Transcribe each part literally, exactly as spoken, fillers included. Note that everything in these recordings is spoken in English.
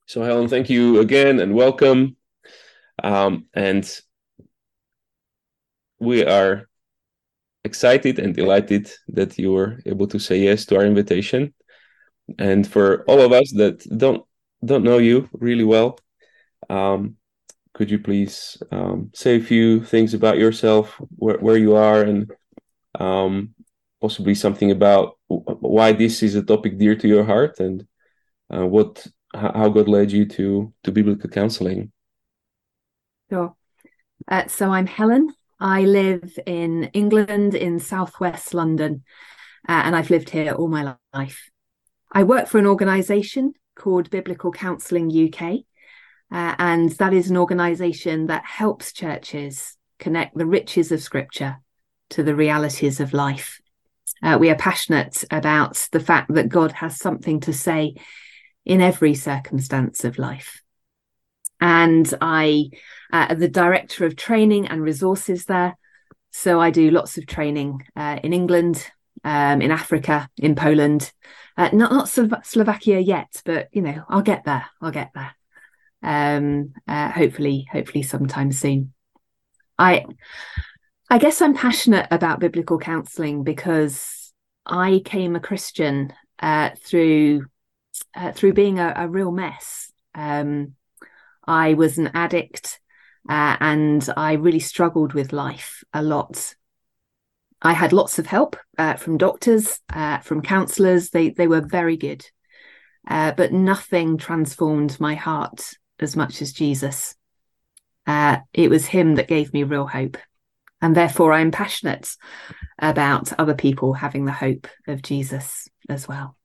So, Helen, thank you again and welcome. Um, and we are excited and delighted that you were able to say yes to our invitation. And for all of us that don't don't know you really well, um, could you please um, say a few things about yourself, where, where you are, and um, possibly something about why this is a topic dear to your heart, and uh, what how God led you to to biblical counseling. Sure. Uh, so I'm Helen. I live in England, in southwest London, uh, and I've lived here all my life. I work for an organisation called Biblical Counselling U K, uh, and that is an organisation that helps churches connect the riches of Scripture to the realities of life. Uh, we are passionate about the fact that God has something to say in every circumstance of life. And I uh, am the director of training and resources there. So I do lots of training uh, in England, um, in Africa, in Poland, uh, not not Slo- Slovakia yet, but you know, I'll get there. I'll get there. Um, uh, hopefully, hopefully sometime soon. I I guess I'm passionate about biblical counselling because I came a Christian uh, through uh, through being a, a real mess. Um, I was an addict uh, and I really struggled with life a lot. I had lots of help uh, from doctors, uh, from counsellors. They, they were very good, uh, but nothing transformed my heart as much as Jesus. Uh, it was him that gave me real hope. And therefore, I'm passionate about other people having the hope of Jesus as well.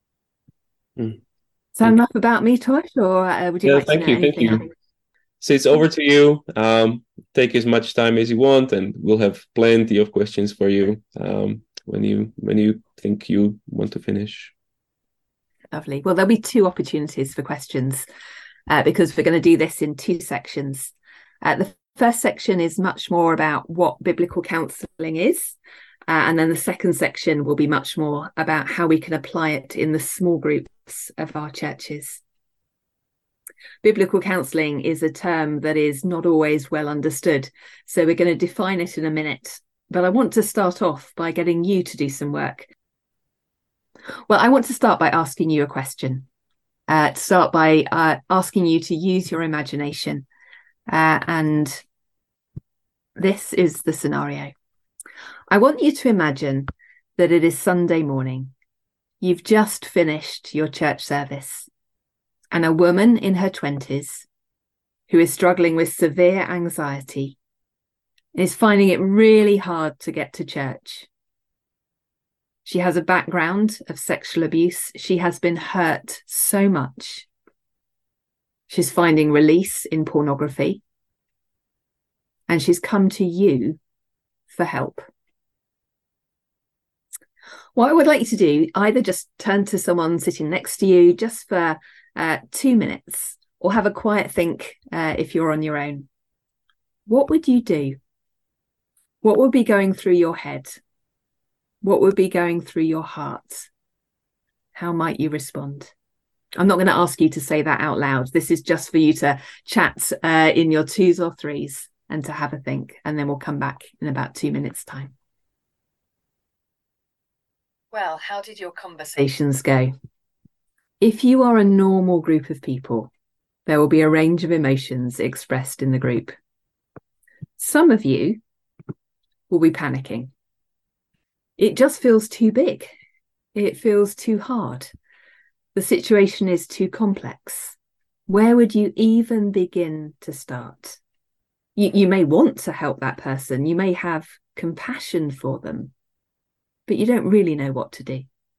Mm, So thank you. enough about me, Tosh, or uh, would you Yeah, like to thank know you, thank anything else? you. So it's over to you. Um, take as much time as you want, and we'll have plenty of questions for you um, when you when you think you want to finish. Lovely. Well, there'll be two opportunities for questions uh, because we're going to do this in two sections. Uh, the first section is much more about what biblical counselling is. Uh, and then the second section will be much more about how we can apply it in the small groups of our churches. Biblical counselling is a term that is not always well understood. So we're going to define it in a minute. But I want to start off by getting you to do some work. Well, I want to start by asking you a question. Uh, to start by uh, asking you to use your imagination. Uh, and this is the scenario. I want you to imagine that it is Sunday morning. You've just finished your church service, and a woman in her twenties who is struggling with severe anxiety is finding it really hard to get to church. She has a background of sexual abuse. She has been hurt so much. She's finding release in pornography. And she's come to you for help. What I would like you to do, either just turn to someone sitting next to you just for uh, two minutes, or have a quiet think uh, if you're on your own. What would you do? What would be going through your head? What would be going through your heart? How might you respond? I'm not going to ask you to say that out loud. This is just for you to chat uh, in your twos or threes and to have a think. And then we'll come back in about two minutes' time. Well, how did your conversations go? If you are a normal group of people, there will be a range of emotions expressed in the group. Some of you will be panicking. It just feels too big. It feels too hard. The situation is too complex. Where would you even begin to start? You, you may want to help that person. You may have compassion for them, but you don't really know what to do.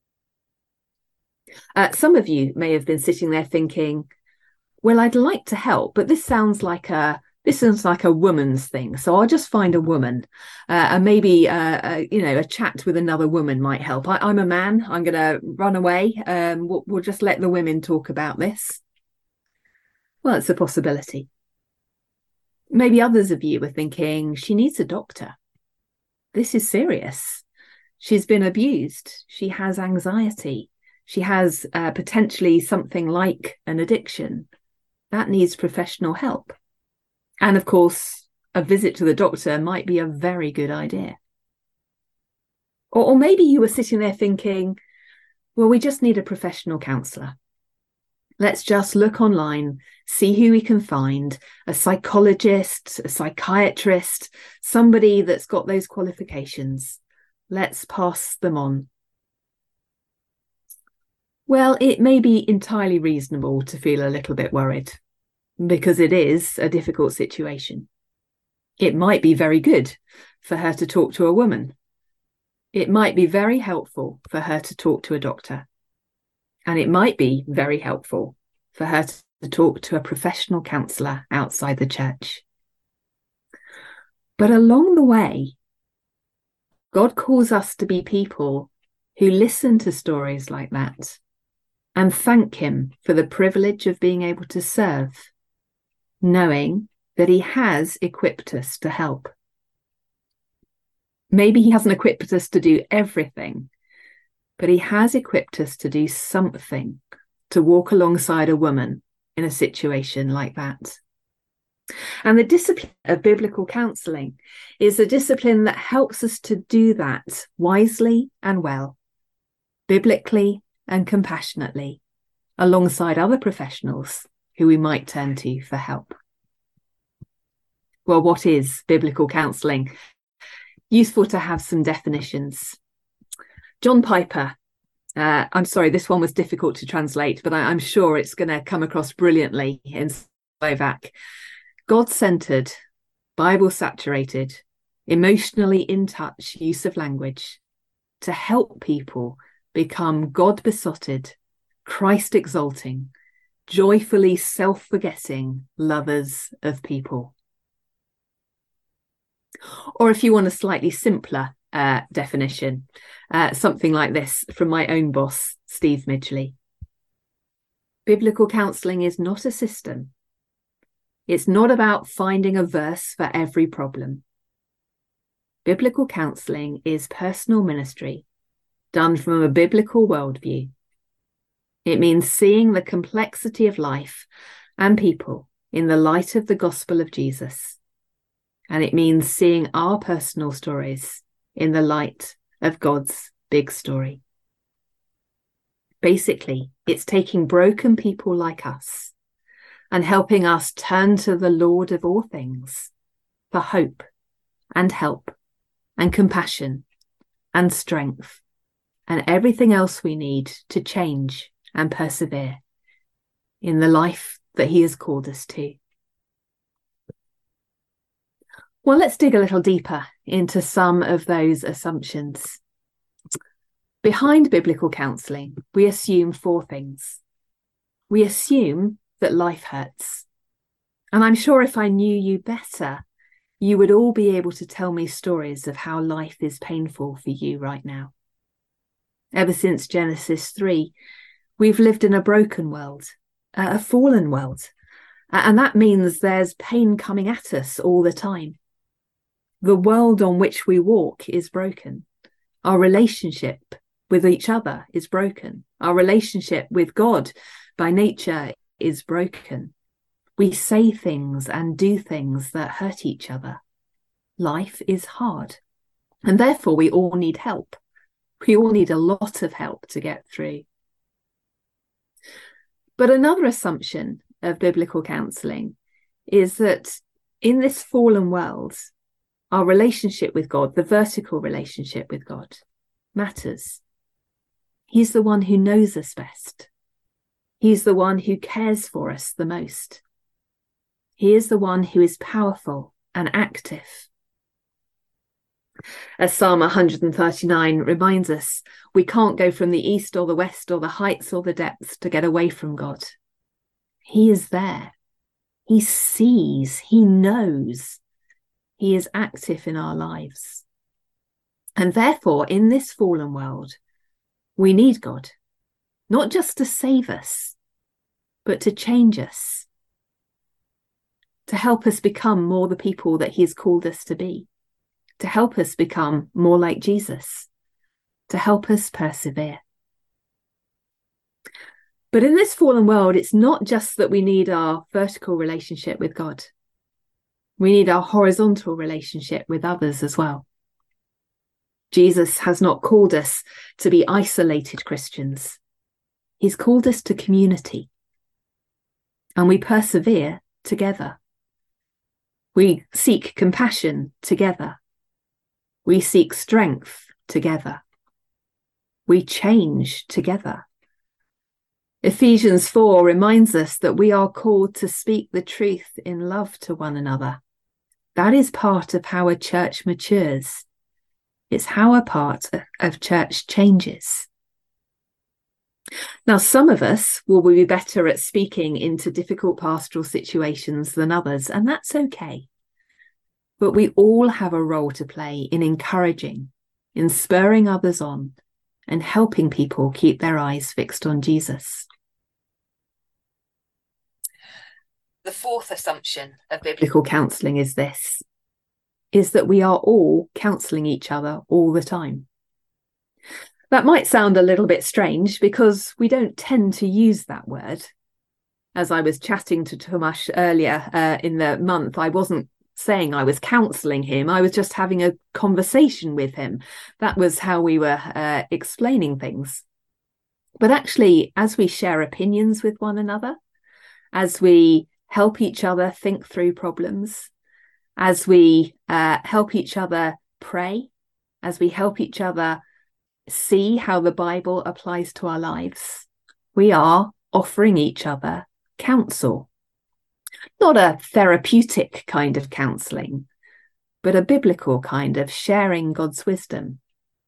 Uh, some of you may have been sitting there thinking, well, I'd like to help, but this sounds like a this sounds like a woman's thing. So I'll just find a woman uh, and maybe, uh, uh, you know, a chat with another woman might help. I, I'm a man. I'm going to run away. Um, we'll, we'll just let the women talk about this. Well, it's a possibility. Maybe others of you were thinking, she needs a doctor. This is serious. She's been abused. She has anxiety. She has uh, potentially something like an addiction. that needs professional help. And of course, a visit to the doctor might be a very good idea. Or, or maybe you were sitting there thinking, well, we just need a professional counsellor. Let's just look online, see who we can find, a psychologist, a psychiatrist, somebody that's got those qualifications. Let's pass them on. Well, it may be entirely reasonable to feel a little bit worried, because it is a difficult situation. It might be very good for her to talk to a woman. It might be very helpful for her to talk to a doctor. And it might be very helpful for her to talk to a professional counsellor outside the church. But along the way, God calls us to be people who listen to stories like that and thank him for the privilege of being able to serve, knowing that he has equipped us to help. Maybe he hasn't equipped us to do everything, but he has equipped us to do something, to walk alongside a woman in a situation like that. And the discipline of biblical counselling is a discipline that helps us to do that wisely and well, biblically and compassionately, alongside other professionals who we might turn to for help. Well, what is biblical counselling? Useful to have some definitions. John Piper, uh, I'm sorry, this one was difficult to translate, but I, I'm sure it's going to come across brilliantly in Slovak. God-centered, Bible-saturated, emotionally in touch use of language to help people become God-besotted, Christ-exalting, joyfully self-forgetting lovers of people. Or if you want a slightly simpler uh, definition, uh, something like this from my own boss, Steve Midgley. Biblical counselling is not a system. It's not about finding a verse for every problem. Biblical counselling is personal ministry done from a biblical worldview. It means seeing the complexity of life and people in the light of the gospel of Jesus. And it means seeing our personal stories in the light of God's big story. Basically, it's taking broken people like us and helping us turn to the Lord of all things for hope and help and compassion and strength and everything else we need to change and persevere in the life that he has called us to. Well, let's dig a little deeper into some of those assumptions. Behind biblical counselling, we assume four things. We assume that life hurts. And I'm sure if I knew you better, you would all be able to tell me stories of how life is painful for you right now. Ever since Genesis three, we've lived in a broken world, a fallen world. And that means there's pain coming at us all the time. The world on which we walk is broken. Our relationship with each other is broken. Our relationship with God by nature is broken. We say things and do things that hurt each other. Life is hard. And therefore we all need help. We all need a lot of help to get through. But another assumption of biblical counselling is that in this fallen world, our relationship with God, the vertical relationship with God, matters. He's the one who knows us best. He's the one who cares for us the most. He is the one who is powerful and active. As Psalm one thirty-nine reminds us, we can't go from the east or the west or the heights or the depths to get away from God. He is there. He sees. He knows. He is active in our lives. And therefore, in this fallen world, we need God, not just to save us, but to change us, to help us become more the people that he has called us to be, to help us become more like Jesus, to help us persevere. But in this fallen world, it's not just that we need our vertical relationship with God. We need our horizontal relationship with others as well. Jesus has not called us to be isolated Christians. He's called us to community. And we persevere together. We seek compassion together. We seek strength together. We change together. Ephesians four reminds us that we are called to speak the truth in love to one another. That is part of how a church matures. It's how a part of church changes. Now, some of us will be better at speaking into difficult pastoral situations than others, and that's okay. But we all have a role to play in encouraging, in spurring others on, and helping people keep their eyes fixed on Jesus. The fourth assumption of biblical counselling is this, is that we are all counselling each other all the time. That might sound a little bit strange because we don't tend to use that word. As I was chatting to Tomasz earlier uh, in the month, I wasn't saying I was counselling him. I was just having a conversation with him. That was how we were uh, explaining things. But actually, as we share opinions with one another, as we help each other think through problems, as we uh, help each other pray, as we help each other see how the Bible applies to our lives, we are offering each other counsel. Not a therapeutic kind of counselling, but a biblical kind of sharing God's wisdom.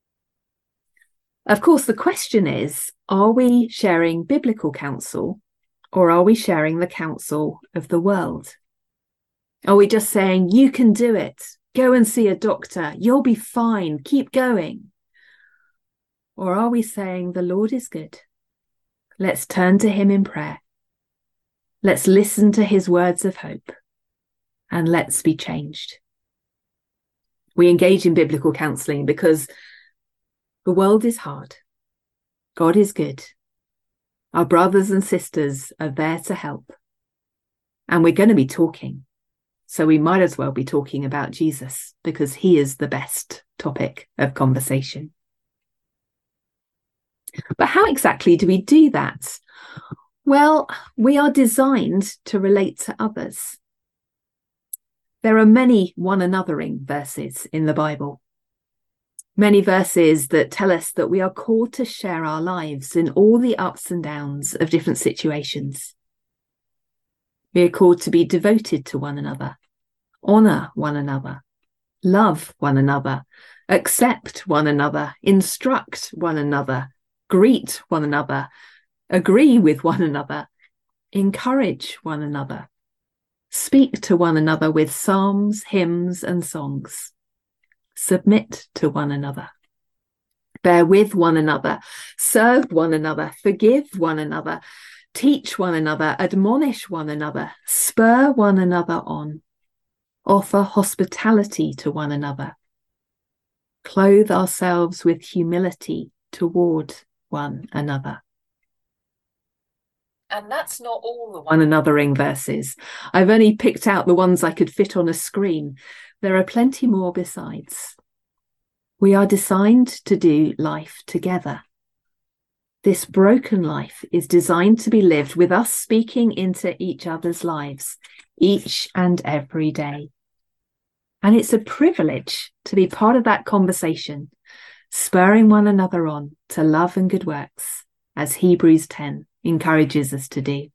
Of course, the question is, are we sharing biblical counsel or are we sharing the counsel of the world? Are we just saying, you can do it, go and see a doctor, you'll be fine, keep going? Or are we saying the Lord is good? Let's turn to him in prayer. Let's listen to his words of hope and let's be changed. We engage in biblical counselling because the world is hard. God is good. Our brothers and sisters are there to help. And we're going to be talking. So we might as well be talking about Jesus because he is the best topic of conversation. But how exactly do we do that? Well, we are designed to relate to others. There are many one anothering verses in the Bible. Many verses that tell us that we are called to share our lives in all the ups and downs of different situations. We are called to be devoted to one another, honour one another, love one another, accept one another, instruct one another, greet one another, agree with one another, encourage one another, speak to one another with psalms, hymns, and songs, submit to one another, bear with one another, serve one another, forgive one another, teach one another, admonish one another, spur one another on, offer hospitality to one another, clothe ourselves with humility toward one another. And that's not all the one anothering verses. I've only picked out the ones I could fit on a screen. There are plenty more besides. We are designed to do life together. This broken life is designed to be lived with us speaking into each other's lives each and every day. And it's a privilege to be part of that conversation, spurring one another on to love and good works, as Hebrews ten encourages us to do.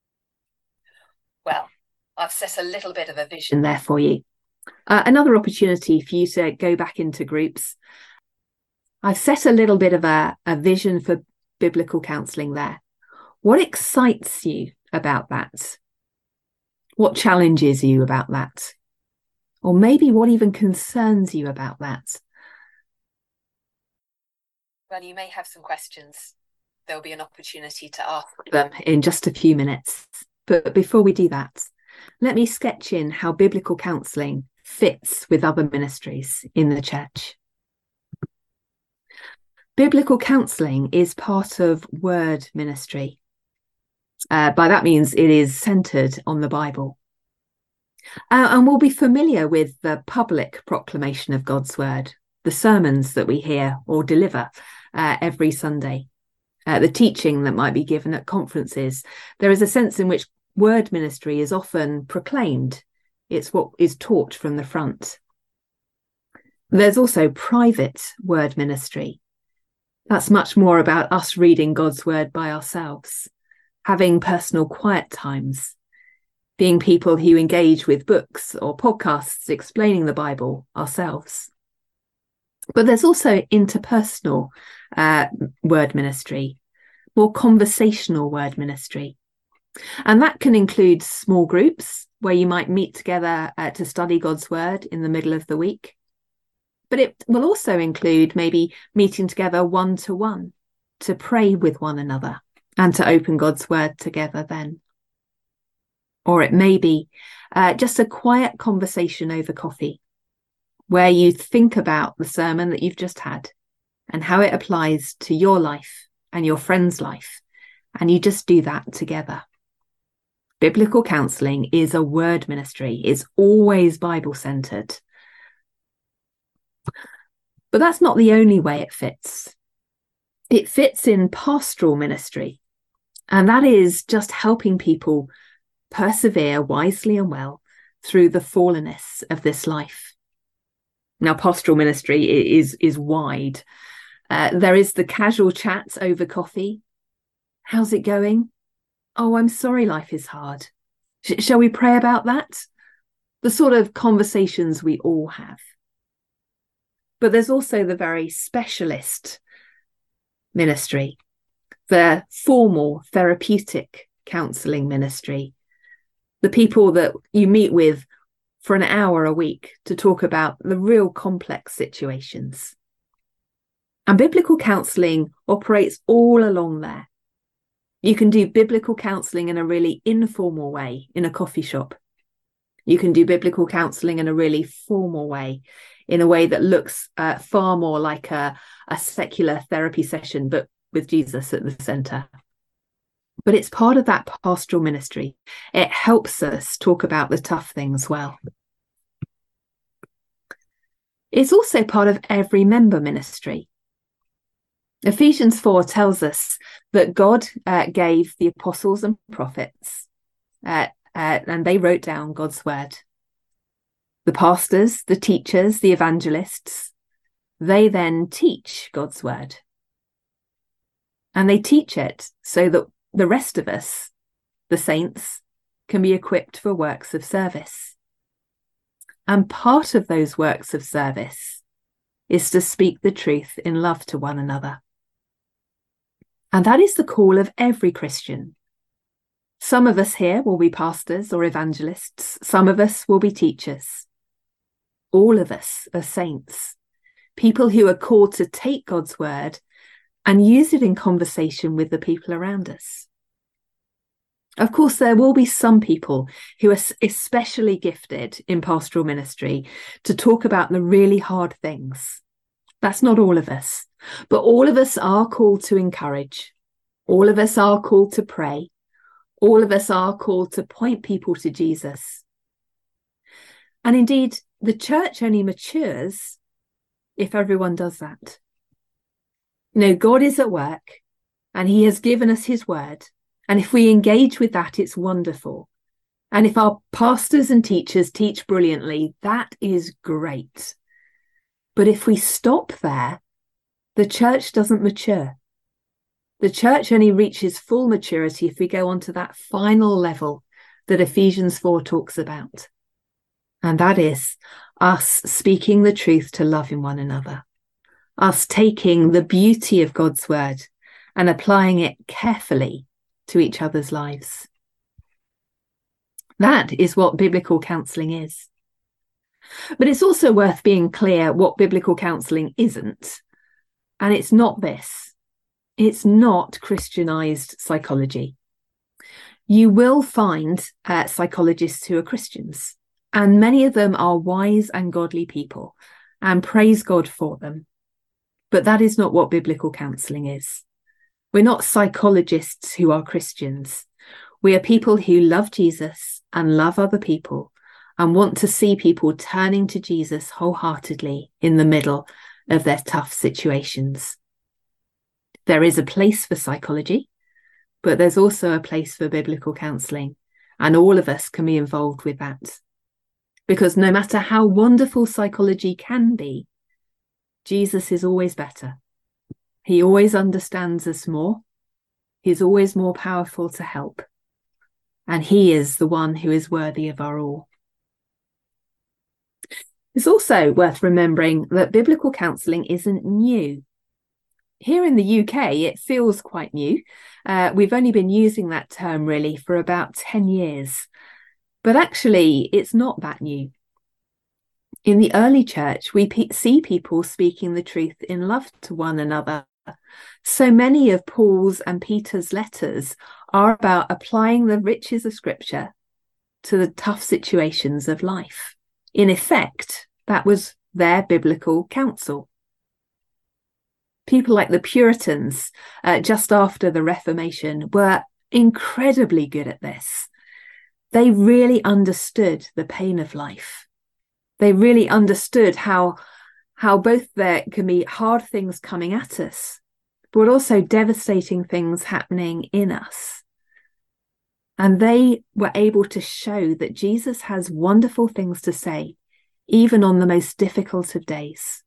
Well, I've set a little bit of a vision there for you. Uh, another opportunity for you to go back into groups. I've set a little bit of a, a vision for biblical counselling there. What excites you about that? What challenges you about that? Or maybe what even concerns you about that? Well, you may have some questions. There'll be an opportunity to ask them in just a few minutes. But before we do that, let me sketch in how biblical counselling fits with other ministries in the church. Biblical counselling is part of word ministry. Uh, by that means it is centered on the Bible. Uh, and we'll be familiar with the public proclamation of God's word, the sermons that we hear or deliver uh, every Sunday, uh, the teaching that might be given at conferences. There is a sense in which word ministry is often proclaimed. It's what is taught from the front. There's also private word ministry. That's much more about us reading God's word by ourselves, having personal quiet times, being people who engage with books or podcasts explaining the Bible ourselves. But there's also interpersonal uh, word ministry, more conversational word ministry. And that can include small groups where you might meet together uh, to study God's word in the middle of the week. But it will also include maybe meeting together one-to-one to pray with one another and to open God's word together then. Or it may be uh, just a quiet conversation over coffee where you think about the sermon that you've just had and how it applies to your life and your friend's life. And you just do that together. Biblical counselling is a word ministry. It's always Bible-centred. But that's not the only way it fits. It fits in pastoral ministry. And that is just helping people persevere wisely and well through the fallenness of this life. Now, pastoral ministry is, is wide. Uh, there is the casual chats over coffee. How's it going? Oh, I'm sorry life is hard. Sh- shall we pray about that? The sort of conversations we all have. But there's also the very specialist ministry, the formal therapeutic counselling ministry, the people that you meet with for an hour a week to talk about the real complex situations. And biblical counselling operates all along there. You can do biblical counselling in a really informal way in a coffee shop. You can do biblical counselling in a really formal way, in a way that looks uh, far more like a, a secular therapy session, but with Jesus at the centre. But it's part of that pastoral ministry. It helps us talk about the tough things well. It's also part of every member ministry. Ephesians four tells us that God uh, gave the apostles and prophets, uh, uh, and they wrote down God's word. The pastors, the teachers, the evangelists, they then teach God's word. And they teach it so that the rest of us, the saints, can be equipped for works of service. And part of those works of service is to speak the truth in love to one another. And that is the call of every Christian. Some of us here will be pastors or evangelists. Some of us will be teachers. All of us are saints, people who are called to take God's word and use it in conversation with the people around us. Of course, there will be some people who are especially gifted in pastoral ministry to talk about the really hard things. That's not all of us, but all of us are called to encourage. All of us are called to pray. All of us are called to point people to Jesus. And indeed, the church only matures if everyone does that. You know, God is at work and he has given us his word. And if we engage with that, it's wonderful. And if our pastors and teachers teach brilliantly, that is great. But if we stop there, the church doesn't mature. The church only reaches full maturity if we go on to that final level that Ephesians four talks about. And that is us speaking the truth to love in one another, us taking the beauty of God's word and applying it carefully to each other's lives. That is what biblical counselling is. But it's also worth being clear what biblical counselling isn't. And it's not this. It's not Christianized psychology. You will find uh, psychologists who are Christians, and many of them are wise and godly people, and praise God for them. But that is not what biblical counselling is. We're not psychologists who are Christians. We are people who love Jesus and love other people and want to see people turning to Jesus wholeheartedly in the middle of their tough situations. There is a place for psychology, but there's also a place for biblical counselling, and all of us can be involved with that. Because no matter how wonderful psychology can be, Jesus is always better. He always understands us more. He's always more powerful to help. And he is the one who is worthy of our all. It's also worth remembering that biblical counselling isn't new. Here in the U K, it feels quite new. Uh, we've only been using that term really for about ten years. But actually, it's not that new. In the early church, we pe- see people speaking the truth in love to one another. So many of Paul's and Peter's letters are about applying the riches of Scripture to the tough situations of life. In effect, that was their biblical counsel. People like the Puritans, uh, just after the Reformation, were incredibly good at this. They really understood the pain of life. They really understood how, how both there can be hard things coming at us, but also devastating things happening in us. And they were able to show that Jesus has wonderful things to say, even on the most difficult of days.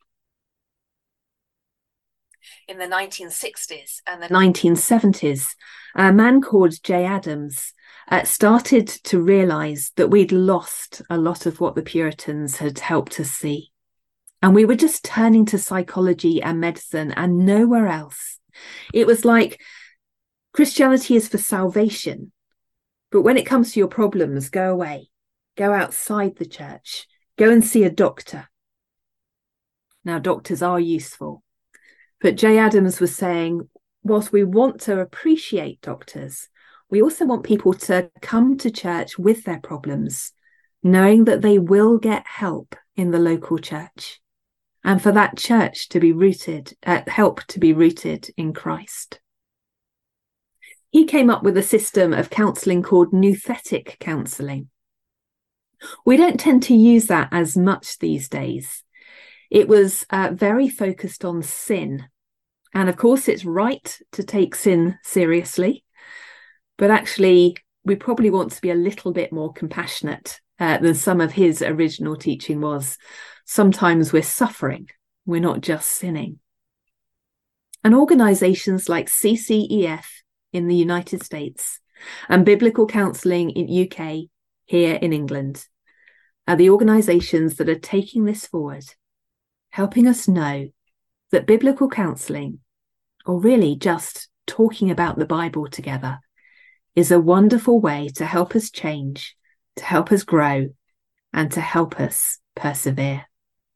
In the nineteen sixties and the nineteen seventies, a man called Jay Adams uh, started to realise that we'd lost a lot of what the Puritans had helped us see. And we were just turning to psychology and medicine and nowhere else. It was like Christianity is for salvation, but when it comes to your problems, go away, go outside the church, go and see a doctor. Now, doctors are useful. But Jay Adams was saying, whilst we want to appreciate doctors, we also want people to come to church with their problems, knowing that they will get help in the local church, and for that church to be rooted, uh, help to be rooted in Christ. He came up with a system of counselling called nouthetic counselling. We don't tend to use that as much these days. It was uh, very focused on sin. And of course, it's right to take sin seriously, but actually, we probably want to be a little bit more compassionate uh, than some of his original teaching was. Sometimes we're suffering, we're not just sinning. And organisations like C C E F in the United States and Biblical Counselling in U K, here in England, are the organisations that are taking this forward, helping us know that biblical counselling, or really just talking about the Bible together, is a wonderful way to help us change, to help us grow, and to help us persevere.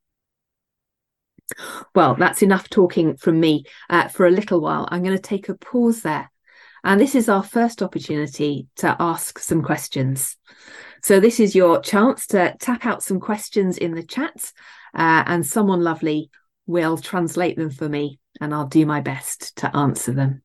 Well, that's enough talking from me uh, for a little while. I'm going to take a pause there. And this is our first opportunity to ask some questions. So this is your chance to tap out some questions in the chat, uh, and someone lovely will translate them for me, and I'll do my best to answer them.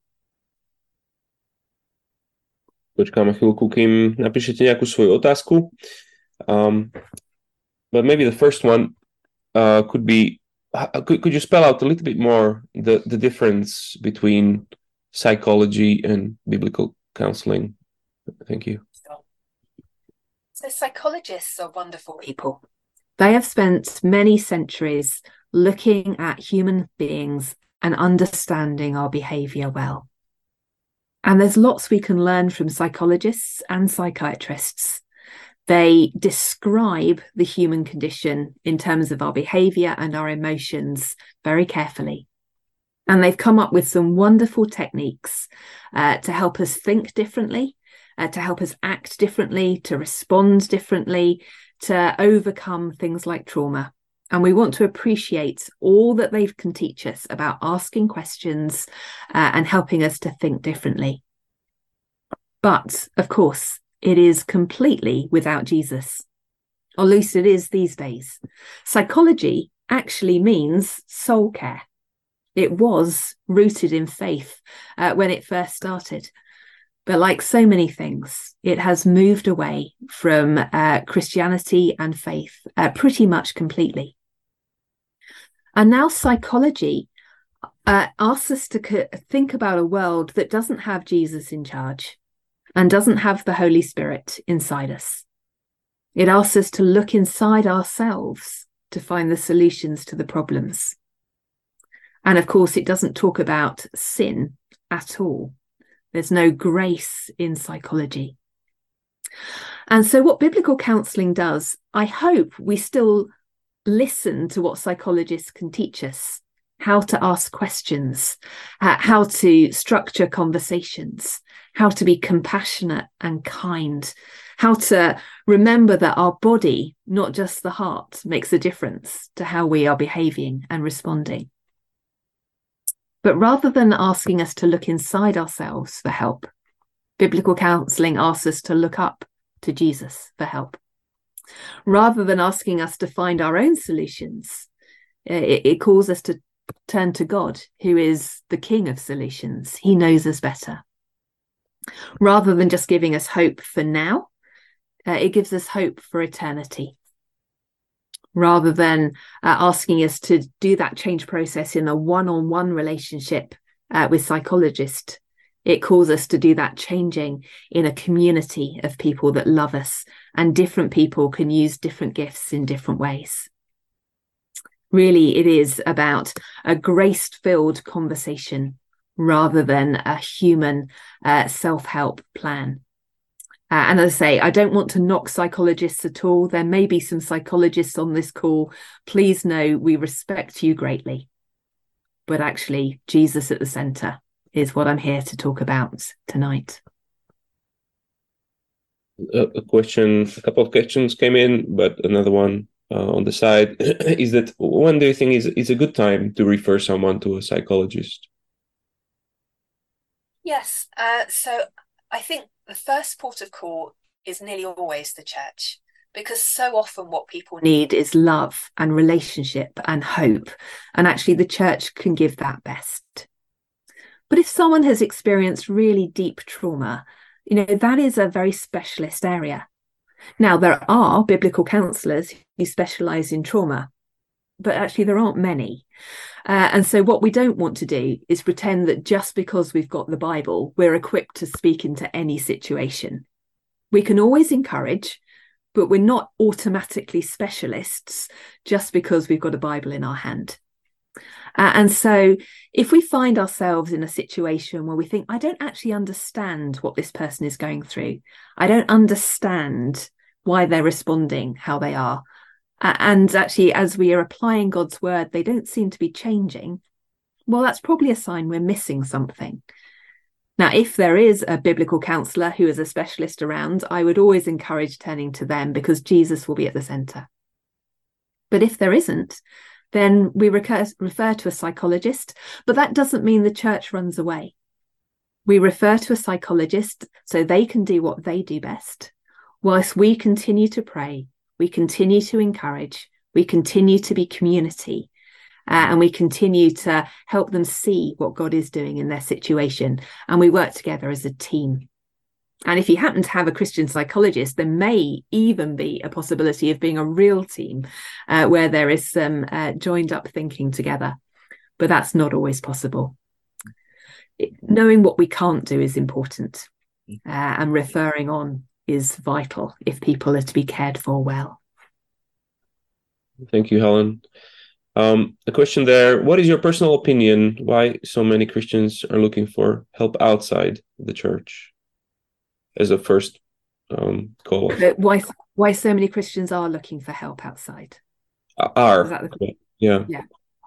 Počkáme chvíľku, kým napíšete nejakú svoju otázku. Um, but maybe the first one uh, could be, could, could you spell out a little bit more the, the difference between psychology and biblical counseling? Thank you. So psychologists are wonderful people. They have spent many centuries looking at human beings and understanding our behaviour well. And there's lots we can learn from psychologists and psychiatrists. They describe the human condition in terms of our behaviour and our emotions very carefully. And they've come up with some wonderful techniques uh, to help us think differently, uh, to help us act differently, to respond differently, to overcome things like trauma. And we want to appreciate all that they can teach us about asking questions uh, and helping us to think differently. But, of course, it is completely without Jesus, or at least it is these days. Psychology actually means soul care. It was rooted in faith uh, when it first started. But like so many things, it has moved away from uh, Christianity and faith uh, pretty much completely. And now psychology uh, asks us to co- think about a world that doesn't have Jesus in charge and doesn't have the Holy Spirit inside us. It asks us to look inside ourselves to find the solutions to the problems. And of course, it doesn't talk about sin at all. There's no grace in psychology. And so what biblical counselling does, I hope we still listen to what psychologists can teach us, how to ask questions, uh, how to structure conversations, how to be compassionate and kind, how to remember that our body, not just the heart, makes a difference to how we are behaving and responding. But rather than asking us to look inside ourselves for help, biblical counselling asks us to look up to Jesus for help. Rather than asking us to find our own solutions, it, it calls us to turn to God, who is the King of solutions. He knows us better. Rather than just giving us hope for now, uh, it gives us hope for eternity. Rather than uh, asking us to do that change process in a one-on-one relationship uh, with psychologists, it calls us to do that changing in a community of people that love us, and different people can use different gifts in different ways. Really, it is about a grace-filled conversation rather than a human uh, self-help plan. Uh, and as I say, I don't want to knock psychologists at all. There may be some psychologists on this call. Please know we respect you greatly. But actually, Jesus at the centre is what I'm here to talk about tonight. A, a question, a couple of questions came in, but another one uh, on the side is that when do you think is, is a good time to refer someone to a psychologist? Yes, uh, so I think the first port of call is nearly always the church, because so often what people need is love and relationship and hope. And actually the church can give that best. But if someone has experienced really deep trauma, you know, that is a very specialist area. Now, there are biblical counsellors who specialise in trauma, but actually there aren't many. Uh, and so what we don't want to do is pretend that just because we've got the Bible, we're equipped to speak into any situation. We can always encourage, but we're not automatically specialists just because we've got a Bible in our hand. Uh, and so if we find ourselves in a situation where we think, I don't actually understand what this person is going through, I don't understand why they're responding how they are, and actually, as we are applying God's word, they don't seem to be changing, well, that's probably a sign we're missing something. Now, if there is a biblical counsellor who is a specialist around, I would always encourage turning to them because Jesus will be at the centre. But if there isn't, then we recur, refer to a psychologist, but that doesn't mean the church runs away. We refer to a psychologist so they can do what they do best, whilst we continue to pray. We continue to encourage, we continue to be community, uh, and we continue to help them see what God is doing in their situation. And we work together as a team. And if you happen to have a Christian psychologist, there may even be a possibility of being a real team uh, where there is some uh, joined up thinking together. But that's not always possible. It, knowing what we can't do is important, uh, and referring on is vital if people are to be cared for well. Thank you, Helen. Um, a question there. What is your personal opinion why so many Christians are looking for help outside the church as a first um, call? Why, why so many Christians are looking for help outside? Are. Is that the... Yeah. Yeah.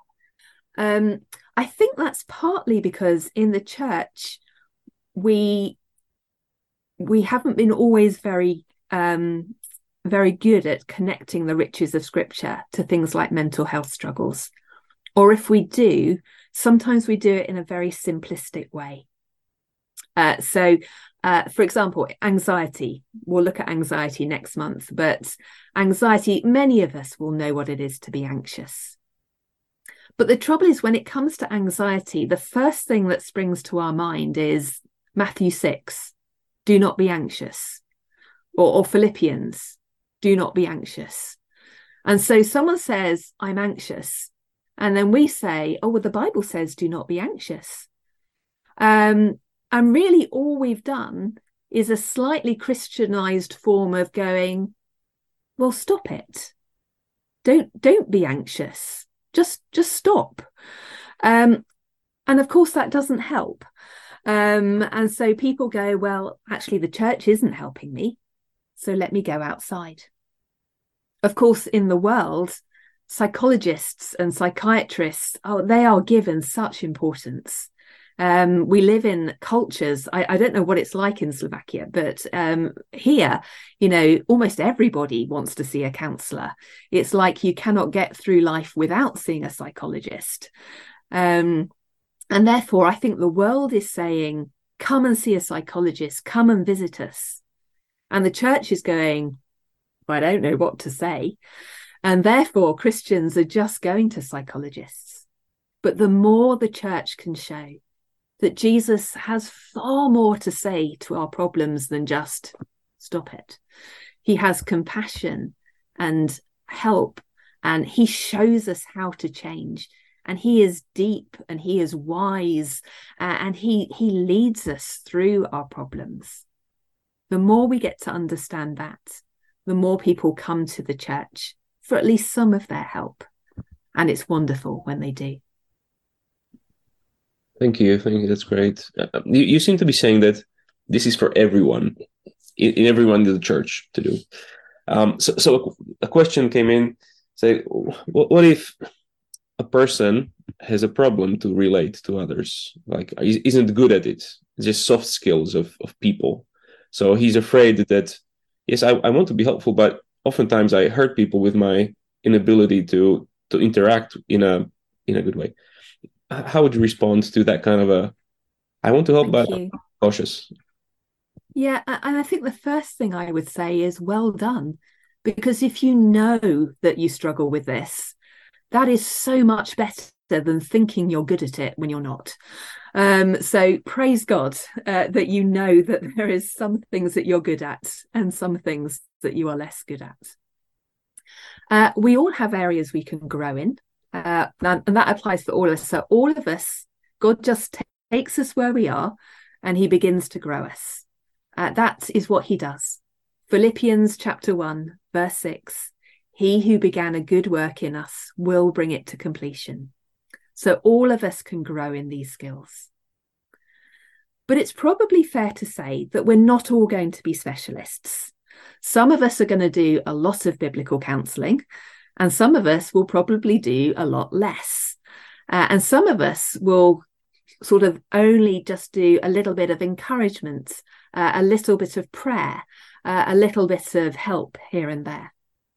Um, I think that's partly because in the church, we we haven't been always very um, very good at connecting the riches of Scripture to things like mental health struggles. Or if we do, sometimes we do it in a very simplistic way. Uh, so, uh, for example, anxiety. We'll look at anxiety next month, but anxiety, many of us will know what it is to be anxious. But the trouble is, when it comes to anxiety, the first thing that springs to our mind is Matthew six. do not be anxious. Or, or Philippians, do not be anxious. And so someone says, I'm anxious. And then we say, oh, well, the Bible says, do not be anxious. Um, and really all we've done is a slightly Christianized form of going, well, stop it. Don't, don't be anxious. Just, just stop. Um, and of course, that doesn't help. Um, and so people go, well, actually, the church isn't helping me. So let me go outside. Of course, in the world, psychologists and psychiatrists, oh, they are given such importance. Um, we live in cultures, I, I don't know what it's like in Slovakia, but um, here, you know, almost everybody wants to see a counsellor. It's like you cannot get through life without seeing a psychologist. Um, and therefore, I think the world is saying, come and see a psychologist, come and visit us. And the church is going, I don't know what to say. And therefore, Christians are just going to psychologists. But the more the church can show that Jesus has far more to say to our problems than just stop it. He has compassion and help, and he shows us how to change. And he is deep and he is wise, uh, and he, he leads us through our problems. The more we get to understand that, the more people come to the church for at least some of their help. And it's wonderful when they do. Thank you. Thank you. That's great. Uh, you, you seem to be saying that this is for everyone, in, in everyone in the church to do. Um, so, so a question came in, say, what, what if a person has a problem to relate to others, like isn't good at it, just soft skills of, of people. So he's afraid that, yes, I, I want to be helpful, but oftentimes I hurt people with my inability to to interact in a in a good way. How would you respond to that kind of a, I want to help, Thank but you. I'm cautious? Yeah, and I think the first thing I would say is well done, because if you know that you struggle with this, that is so much better than thinking you're good at it when you're not. Um, so praise God uh, that you know that there is some things that you're good at and some things that you are less good at. Uh, we all have areas we can grow in, uh, and, and that applies for all of us. So all of us, God just t- takes us where we are and he begins to grow us. Uh, that is what he does. Philippians chapter one, verse six, he who began a good work in us will bring it to completion. So all of us can grow in these skills. But it's probably fair to say that we're not all going to be specialists. Some of us are going to do a lot of biblical counselling, and some of us will probably do a lot less. Uh, and some of us will sort of only just do a little bit of encouragement, uh, a little bit of prayer, uh, a little bit of help here and there.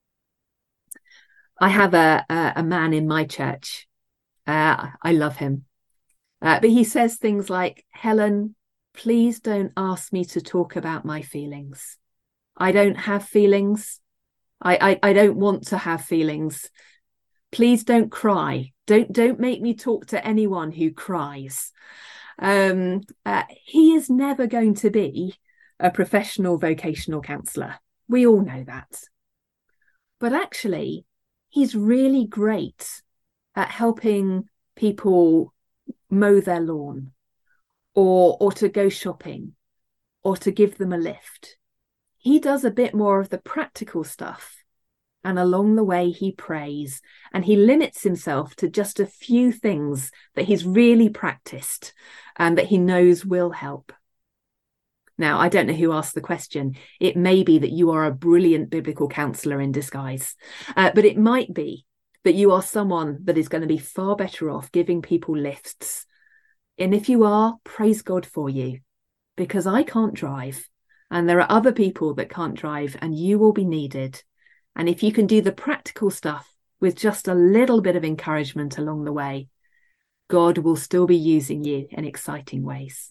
I have a, a, a man in my church. Uh, I love him. Uh, but he says things like, Helen, please don't ask me to talk about my feelings. I don't have feelings. I, I, I don't want to have feelings. Please don't cry. Don't, don't make me talk to anyone who cries. Um, uh, he is never going to be a professional vocational counsellor. We all know that. But actually, he's really great at helping people mow their lawn, or or to go shopping, or to give them a lift. He does a bit more of the practical stuff, and along the way he prays, and he limits himself to just a few things that he's really practiced and that he knows will help. Now, I don't know who asked the question. It may be that you are a brilliant biblical counsellor in disguise, uh, but it might be that you are someone that is going to be far better off giving people lifts. And if you are, praise God for you, because I can't drive and there are other people that can't drive, and you will be needed. And if you can do the practical stuff with just a little bit of encouragement along the way, God will still be using you in exciting ways.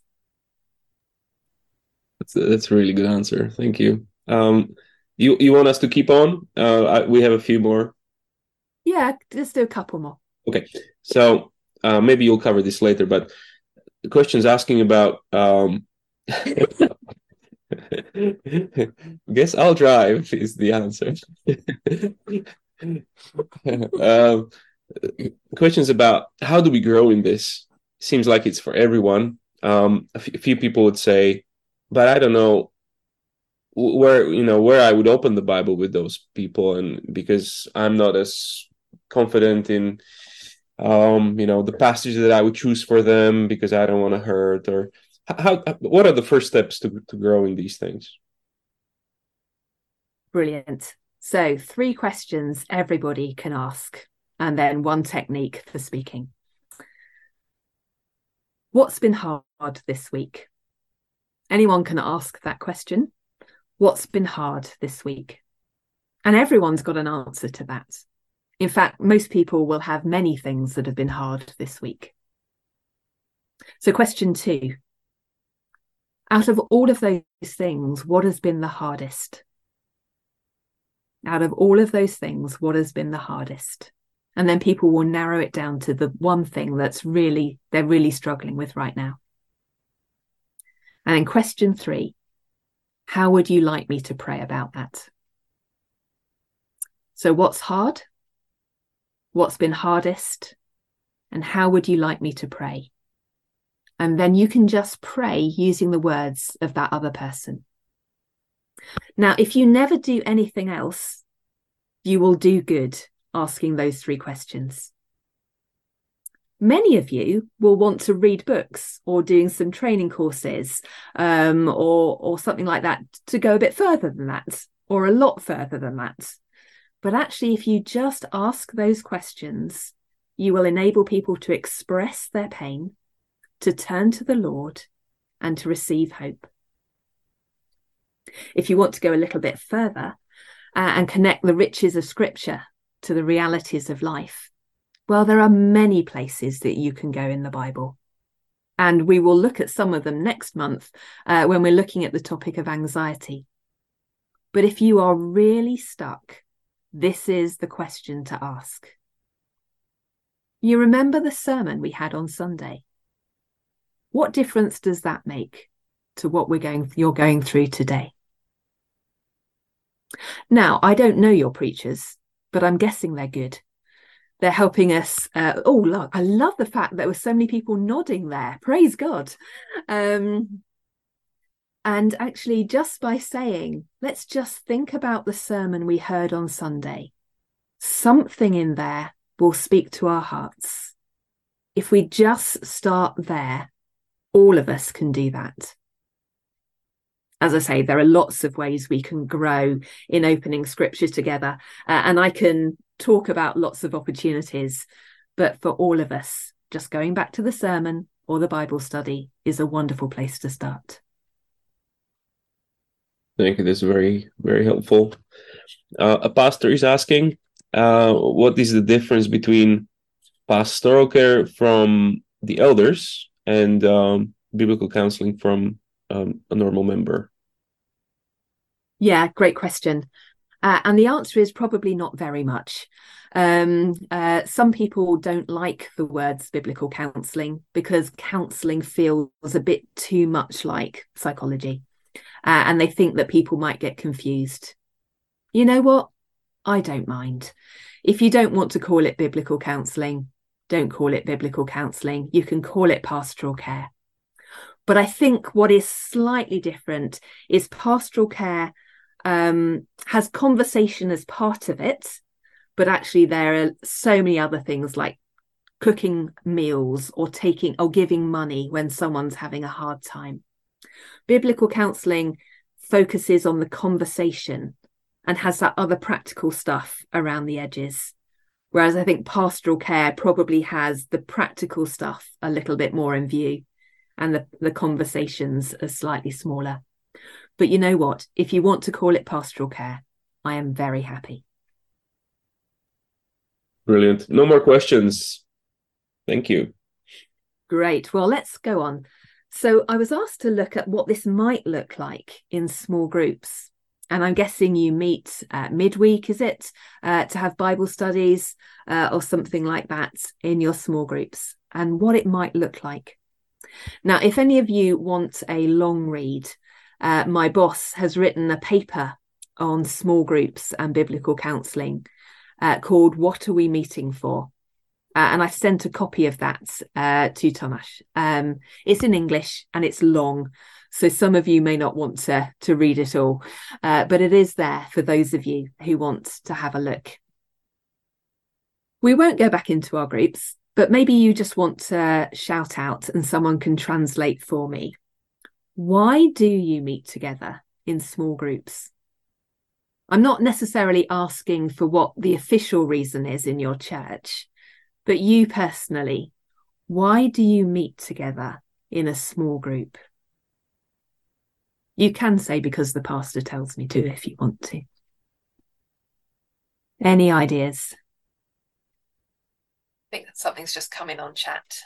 That's a, that's a really good answer. Thank you. Um, you you want us to keep on? Uh, I, we have a few more. Yeah, let's do a couple more. Okay, so uh, maybe you'll cover this later, but the question's asking about um, Guess I'll drive is the answer. um, questions about how do we grow in this? Seems like it's for everyone. Um, a, f- a few people would say, but I don't know where you know where I would open the Bible with those people, and because I'm not as confident in um, you know, the passage that I would choose for them because I don't want to hurt, or how, what are the first steps to, to grow in these things? Brilliant. So three questions everybody can ask, and then one technique for speaking. What's been hard this week? Anyone can ask that question. What's been hard this week? And everyone's got an answer to that. In fact, most people will have many things that have been hard this week. So question two, out of all of those things, what has been the hardest? Out of all of those things, what has been the hardest? And then people will narrow it down to the one thing that's really, they're really struggling with right now. And then question three, how would you like me to pray about that? So what's hard? What's been hardest? And how would you like me to pray? And then you can just pray using the words of that other person. Now, if you never do anything else, you will do good asking those three questions. Many of you will want to read books or doing some training courses um, or, or something like that to go a bit further than that, or a lot further than that. But actually, if you just ask those questions, you will enable people to express their pain, to turn to the Lord, and to receive hope. If you want to go a little bit further uh, and connect the riches of Scripture to the realities of life, well, there are many places that you can go in the Bible. And we will look at some of them next month uh, when we're looking at the topic of anxiety. But if you are really stuck, this is the question to ask. You remember the sermon we had on Sunday? What difference does that make to what we're going, you're going through today? Now, I don't know your preachers, but I'm guessing they're good. They're helping us. Uh, oh, look, I love the fact that there were so many people nodding there. Praise God. Um, and actually, just by saying, let's just think about the sermon we heard on Sunday. Something in there will speak to our hearts. If we just start there, all of us can do that. As I say, there are lots of ways we can grow in opening scripture together. Uh, and I can talk about lots of opportunities. But for all of us, just going back to the sermon or the Bible study is a wonderful place to start. Thank you. That's very, very helpful. Uh, a pastor is asking, uh, what is the difference between pastoral care from the elders and um, biblical counseling from um, a normal member? Yeah, great question. Uh, and the answer is probably not very much. Um, uh, some people don't like the words biblical counselling because counselling feels a bit too much like psychology. Uh, and they think that people might get confused. You know what? I don't mind. If you don't want to call it biblical counselling, don't call it biblical counselling. You can call it pastoral care. But I think what is slightly different is pastoral care um, has conversation as part of it, but actually there are so many other things like cooking meals or taking or giving money when someone's having a hard time. Biblical counselling focuses on the conversation and has that other practical stuff around the edges. Whereas I think pastoral care probably has the practical stuff a little bit more in view and the, the conversations are slightly smaller. But you know what? If you want to call it pastoral care, I am very happy. Brilliant. No more questions. Thank you. Great. Well, let's go on. So I was asked to look at what this might look like in small groups. And I'm guessing you meet uh, midweek, is it, uh, to have Bible studies uh, or something like that in your small groups, and what it might look like. Now, if any of you want a long read, uh, my boss has written a paper on small groups and biblical counselling uh, called What Are We Meeting For? Uh, and I've sent a copy of that uh, to Tomasz. Um, it's in English and it's long, so some of you may not want to, to read it all, uh, but it is there for those of you who want to have a look. We won't go back into our groups, but maybe you just want to shout out and someone can translate for me. Why do you meet together in small groups? I'm not necessarily asking for what the official reason is in your church, but you personally, why do you meet together in a small group? You can say because the pastor tells me to if you want to. Any ideas? I think that something's just come in on chat.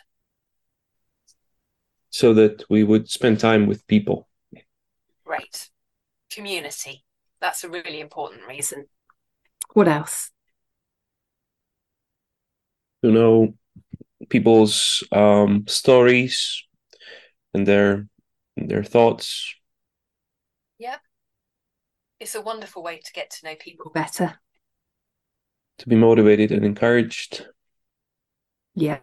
So that we would spend time with people. Great. Community. That's a really important reason. What else? To know people's um, stories and their their thoughts. Yeah. It's a wonderful way to get to know people better. To be motivated and encouraged. Yeah.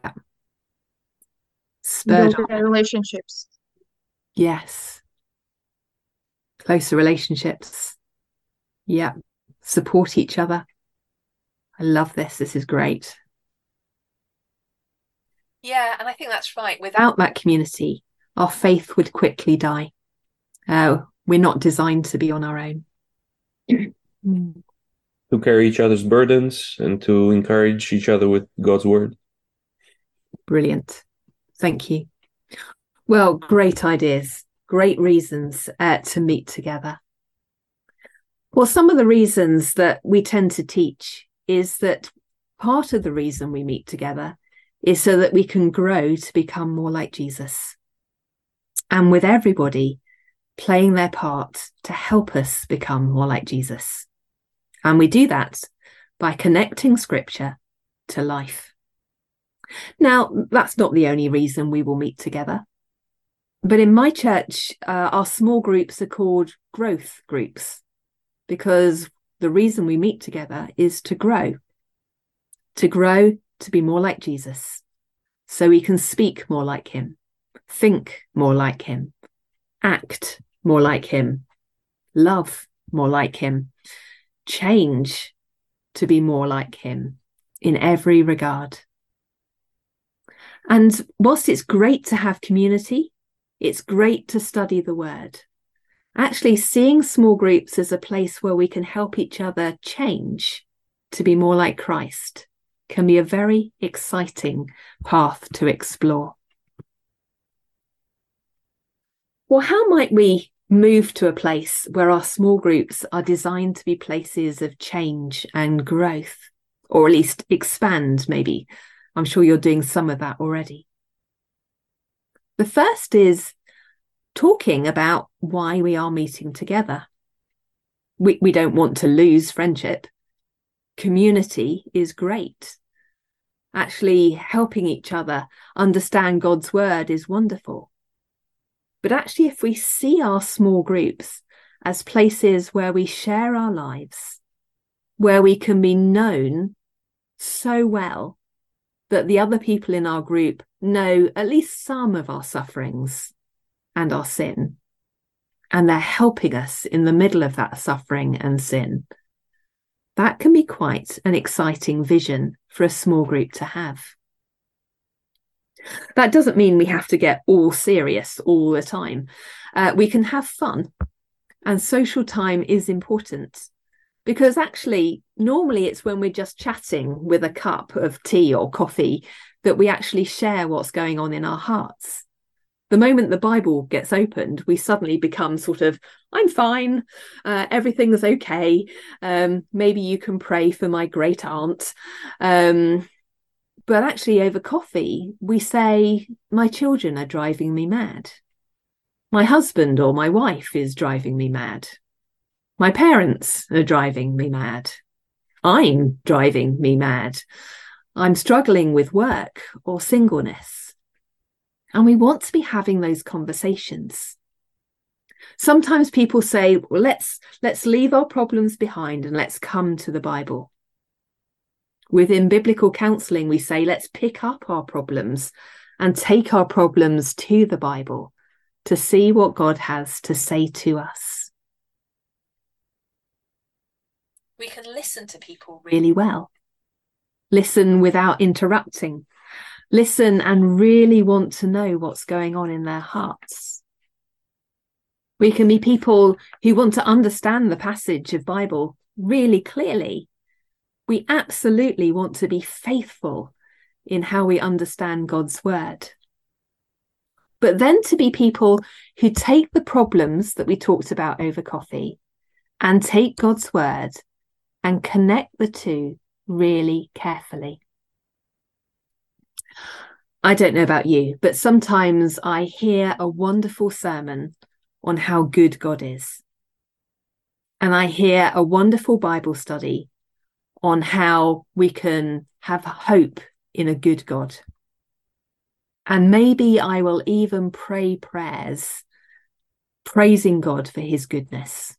Spurred Build on. relationships. Yes. Closer relationships. Yeah. Support each other. I love this. This is great. Yeah, and I think that's right. Without that community, our faith would quickly die. Uh, we're not designed to be on our own. To carry each other's burdens and to encourage each other with God's word. Brilliant. Thank you. Well, great ideas, great reasons uh, to meet together. Well, some of the reasons that we tend to teach is that part of the reason we meet together is so that we can grow to become more like Jesus. And with everybody playing their part to help us become more like Jesus. And we do that by connecting scripture to life. Now, that's not the only reason we will meet together. But in my church, uh, our small groups are called growth groups because the reason we meet together is to grow, to grow to be more like Jesus, so we can speak more like him, think more like him, act more like him, love more like him, change to be more like him in every regard. And whilst it's great to have community, it's great to study the word. Actually, seeing small groups as a place where we can help each other change to be more like Christ can be a very exciting path to explore. Well, how might we move to a place where our small groups are designed to be places of change and growth, or at least expand, maybe? I'm sure you're doing some of that already. The first is talking about why we are meeting together. We, we don't want to lose friendship. Community is great. Actually, helping each other understand God's word is wonderful. But actually, if we see our small groups as places where we share our lives, where we can be known so well that the other people in our group know at least some of our sufferings and our sin, and they're helping us in the middle of that suffering and sin, that can be quite an exciting vision for a small group to have. That doesn't mean we have to get all serious all the time. Uh, we can have fun, and social time is important. Because actually, normally it's when we're just chatting with a cup of tea or coffee that we actually share what's going on in our hearts. The moment the Bible gets opened, we suddenly become sort of, I'm fine, uh, everything's okay. Um, maybe you can pray for my great aunt. Um, but actually over coffee, we say, my children are driving me mad. My husband or my wife is driving me mad. My parents are driving me mad. I'm driving me mad. I'm struggling with work or singleness. And we want to be having those conversations. Sometimes people say, well, let's let's leave our problems behind and let's come to the Bible. Within biblical counselling, we say, let's pick up our problems and take our problems to the Bible to see what God has to say to us. We can listen to people really well. Listen without interrupting. Listen and really want to know what's going on in their hearts. We can be people who want to understand the passage of Bible really clearly. We absolutely want to be faithful in how we understand God's word. But then to be people who take the problems that we talked about over coffee and take God's word and connect the two really carefully. I don't know about you, but sometimes I hear a wonderful sermon on how good God is. And I hear a wonderful Bible study on how we can have hope in a good God. And maybe I will even pray prayers praising God for his goodness.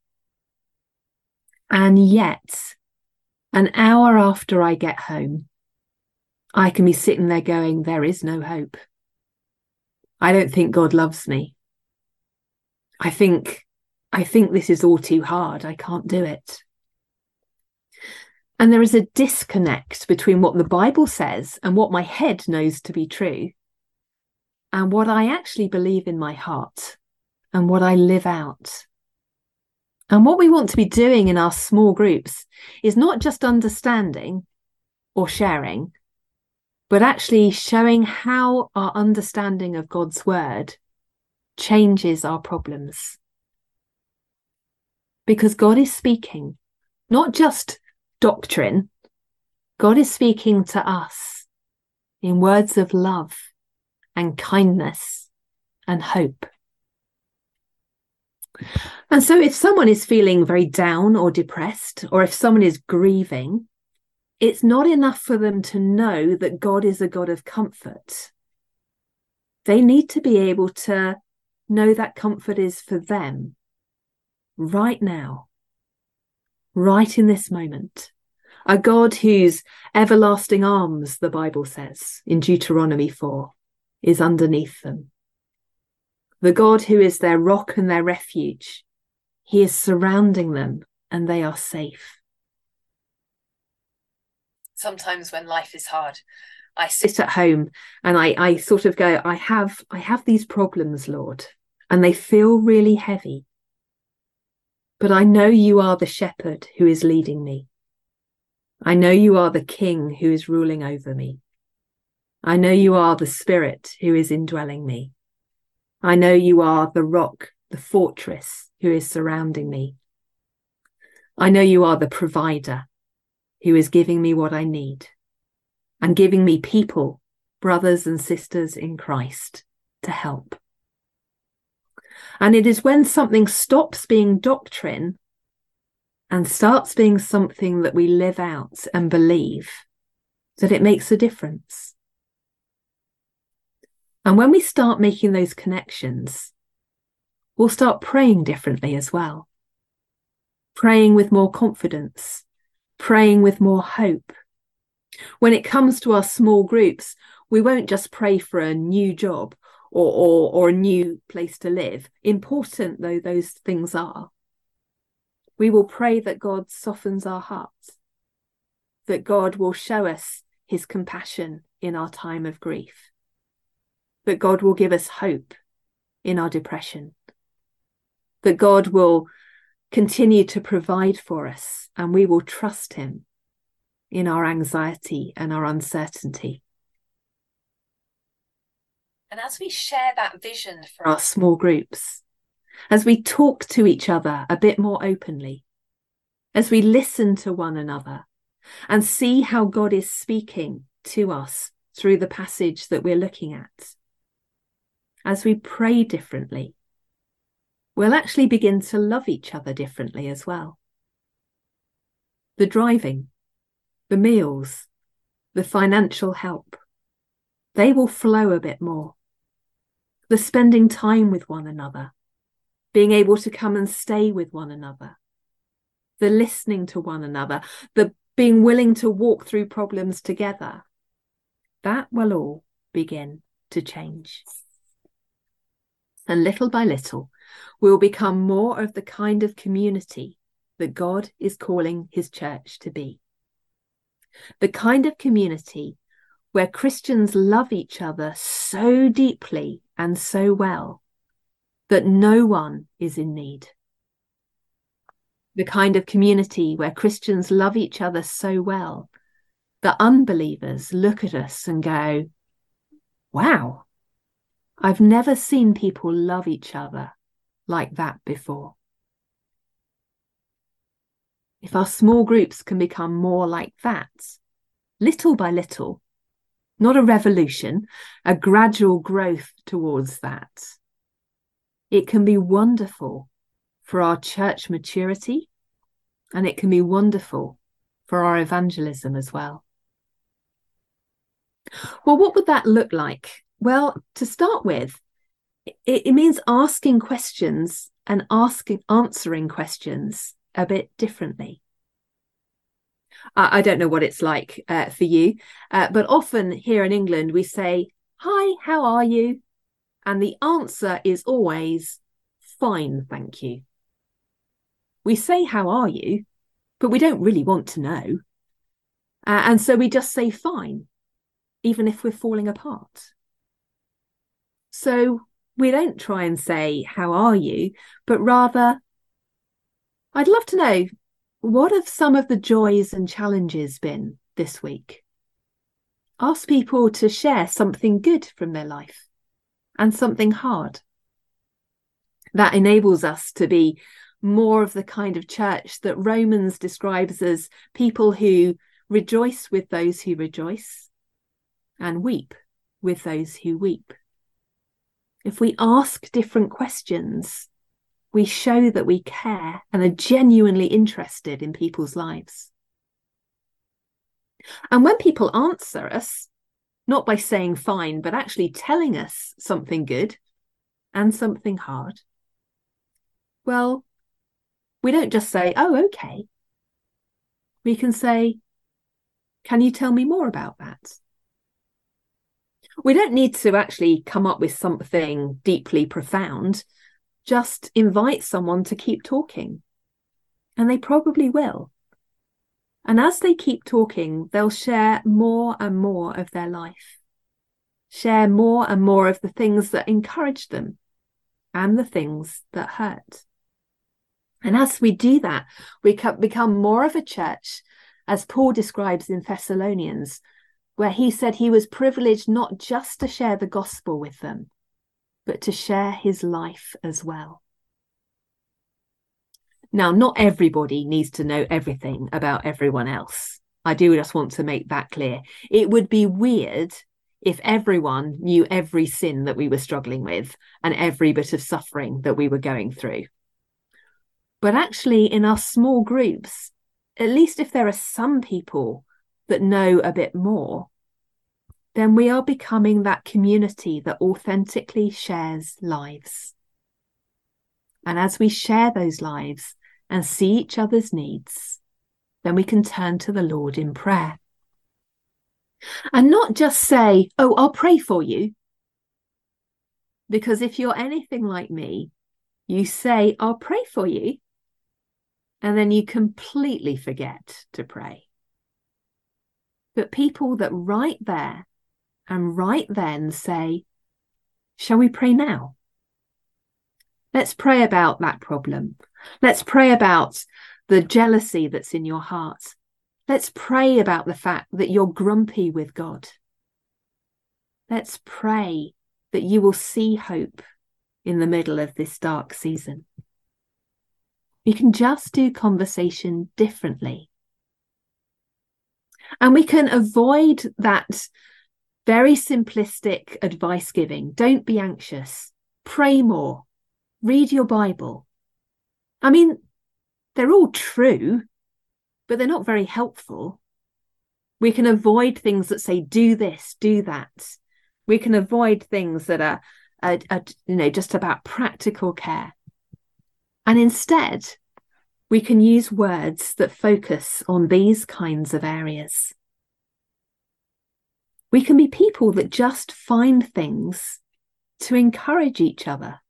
And yet, an hour after I get home, I can be sitting there going, there is no hope. I don't think God loves me. I think, I think this is all too hard. I can't do it. And there is a disconnect between what the Bible says and what my head knows to be true and what I actually believe in my heart and what I live out. And what we want to be doing in our small groups is not just understanding or sharing, but actually showing how our understanding of God's word changes our problems. Because God is speaking, not just doctrine, God is speaking to us in words of love and kindness and hope. And so if someone is feeling very down or depressed, or if someone is grieving, it's not enough for them to know that God is a God of comfort. They need to be able to know that comfort is for them right now, right in this moment. A God whose everlasting arms, the Bible says in Deuteronomy four, is underneath them. The God who is their rock and their refuge. He is surrounding them and they are safe. Sometimes when life is hard, I sit at home and I, I sort of go, I have, I have these problems, Lord, and they feel really heavy. But I know you are the shepherd who is leading me. I know you are the king who is ruling over me. I know you are the spirit who is indwelling me. I know you are the rock, the fortress who is surrounding me. I know you are the provider who is giving me what I need and giving me people, brothers and sisters in Christ, to help. And it is when something stops being doctrine and starts being something that we live out and believe that it makes a difference. And when we start making those connections, we'll start praying differently as well. Praying with more confidence, praying with more hope. When it comes to our small groups, we won't just pray for a new job or, or, or a new place to live, important though those things are. We will pray that God softens our hearts, that God will show us his compassion in our time of grief, that God will give us hope in our depression, that God will continue to provide for us and we will trust him in our anxiety and our uncertainty. And as we share that vision for our small groups, as we talk to each other a bit more openly, as we listen to one another and see how God is speaking to us through the passage that we're looking at, as we pray differently, we'll actually begin to love each other differently as well. The driving, the meals, the financial help, they will flow a bit more. The spending time with one another, being able to come and stay with one another, the listening to one another, the being willing to walk through problems together, that will all begin to change. And little by little, we'll become more of the kind of community that God is calling his church to be. The kind of community where Christians love each other so deeply and so well that no one is in need. The kind of community where Christians love each other so well that unbelievers look at us and go, wow, I've never seen people love each other like that before. If our small groups can become more like that, little by little, not a revolution, a gradual growth towards that, it can be wonderful for our church maturity, and it can be wonderful for our evangelism as well. Well, what would that look like? Well, to start with, it, it means asking questions and asking, answering questions a bit differently. I, I don't know what it's like uh, for you, uh, but often here in England, we say, hi, how are you? And the answer is always, fine, thank you. We say, how are you? But we don't really want to know. Uh, and so we just say, fine, even if we're falling apart. So we don't try and say, how are you? But rather, I'd love to know, what have some of the joys and challenges been this week? Ask people to share something good from their life and something hard. That enables us to be more of the kind of church that Romans describes as people who rejoice with those who rejoice and weep with those who weep. If we ask different questions, we show that we care and are genuinely interested in people's lives. And when people answer us, not by saying fine, but actually telling us something good and something hard, well, we don't just say, oh, okay. We can say, can you tell me more about that? We don't need to actually come up with something deeply profound. Just invite someone to keep talking. And they probably will. And as they keep talking, they'll share more and more of their life. Share more and more of the things that encourage them and the things that hurt. And as we do that, we become more of a church, as Paul describes in Thessalonians, where he said he was privileged not just to share the gospel with them, but to share his life as well. Now, not everybody needs to know everything about everyone else. I do just want to make that clear. It would be weird if everyone knew every sin that we were struggling with and every bit of suffering that we were going through. But actually, in our small groups, at least if there are some people that know a bit more, then we are becoming that community that authentically shares lives. And as we share those lives and see each other's needs, then we can turn to the Lord in prayer. And not just say, oh, I'll pray for you. Because if you're anything like me, you say, I'll pray for you. And then you completely forget to pray. But people that right there and right then say, shall we pray now? Let's pray about that problem. Let's pray about the jealousy that's in your heart. Let's pray about the fact that you're grumpy with God. Let's pray that you will see hope in the middle of this dark season. We can just do conversation differently. And we can avoid that very simplistic advice giving. Don't be anxious. Pray more. Read your Bible. I mean, they're all true, but they're not very helpful. We can avoid things that say, do this, do that. We can avoid things that are, are, are you know, just about practical care. And instead, we can use words that focus on these kinds of areas. We can be people that just find things to encourage each other.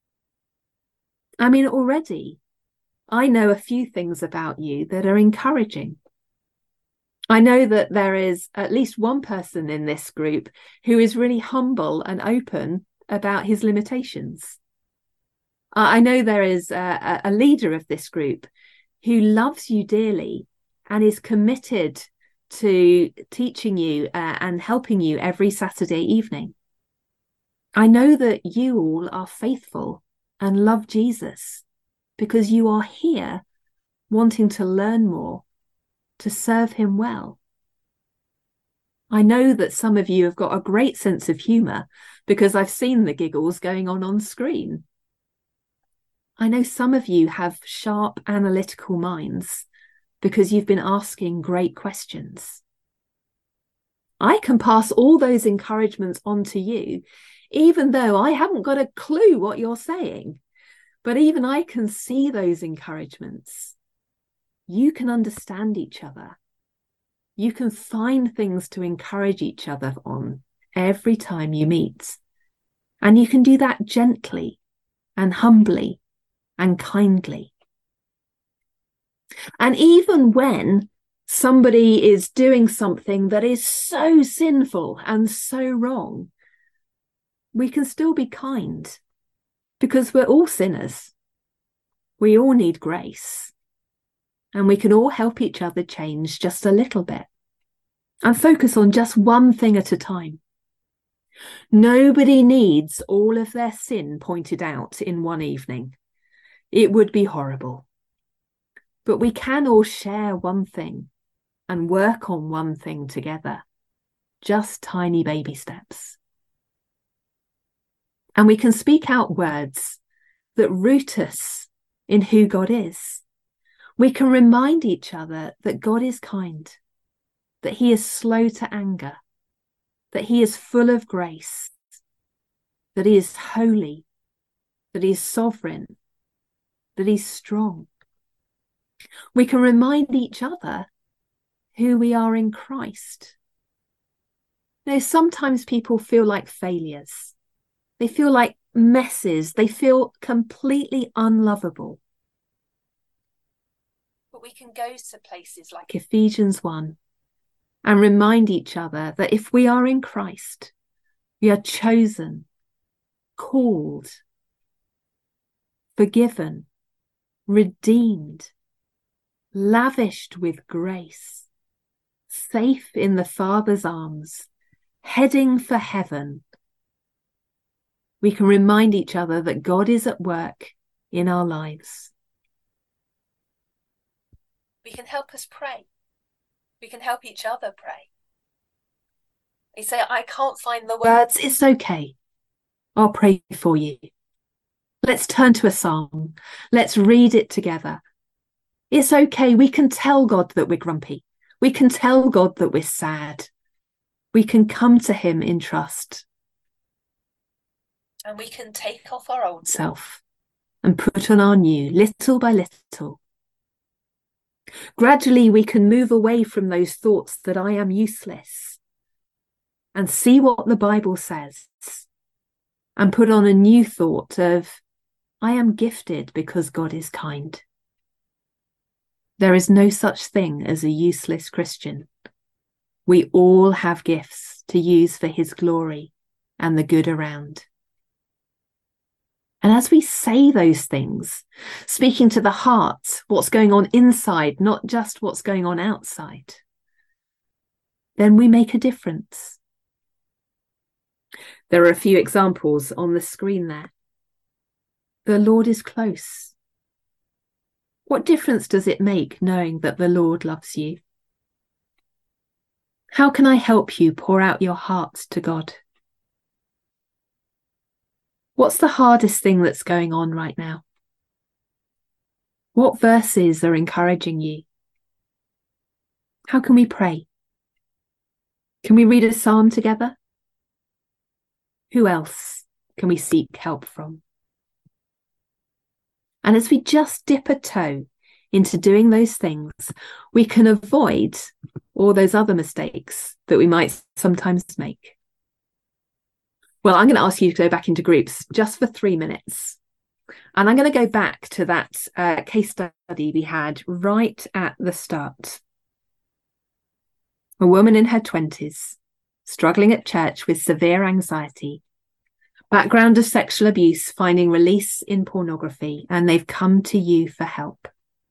I mean, already, I know a few things about you that are encouraging. I know that there is at least one person in this group who is really humble and open about his limitations. I know there is a, a leader of this group who loves you dearly and is committed to teaching you uh, and helping you every Saturday evening. I know that you all are faithful and love Jesus because you are here wanting to learn more, to serve him well. I know that some of you have got a great sense of humour because I've seen the giggles going on on screen. I know some of you have sharp analytical minds because you've been asking great questions. I can pass all those encouragements on to you, even though I haven't got a clue what you're saying. But even I can see those encouragements. You can understand each other. You can find things to encourage each other on every time you meet. And you can do that gently and humbly and kindly. And even when somebody is doing something that is so sinful and so wrong, we can still be kind because we're all sinners. We all need grace. And we can all help each other change just a little bit and focus on just one thing at a time. Nobody needs all of their sin pointed out in one evening. It would be horrible. But we can all share one thing and work on one thing together. Just tiny baby steps. And we can speak out words that root us in who God is. We can remind each other that God is kind, that he is slow to anger, that he is full of grace, that he is holy, that he is sovereign, that he's strong. We can remind each other who we are in Christ. Now, sometimes people feel like failures. They feel like messes. They feel completely unlovable. But we can go to places like Ephesians one and remind each other that if we are in Christ, we are chosen, called, forgiven, redeemed, lavished with grace, safe in the Father's arms, heading for heaven. We can remind each other that God is at work in our lives. We can help us pray. We can help each other pray. They say, I can't find the words. It's okay. I'll pray for you. Let's turn to a psalm. Let's read it together. It's okay. We can tell God that we're grumpy. We can tell God that we're sad. We can come to him in trust. And we can take off our old self and put on our new, little by little. Gradually, we can move away from those thoughts that I am useless and see what the Bible says and put on a new thought of I am gifted because God is kind. There is no such thing as a useless Christian. We all have gifts to use for his glory and the good around. And as we say those things, speaking to the heart, what's going on inside, not just what's going on outside, then we make a difference. There are a few examples on the screen there. The Lord is close. What difference does it make knowing that the Lord loves you? How can I help you pour out your hearts to God? What's the hardest thing that's going on right now? What verses are encouraging you? How can we pray? Can we read a psalm together? Who else can we seek help from? And as we just dip a toe into doing those things, we can avoid all those other mistakes that we might sometimes make. Well, I'm going to ask you to go back into groups just for three minutes. And I'm going to go back to that uh, case study we had right at the start. A woman in her twenties, struggling at church with severe anxiety, background of sexual abuse, finding release in pornography, and they've come to you for help.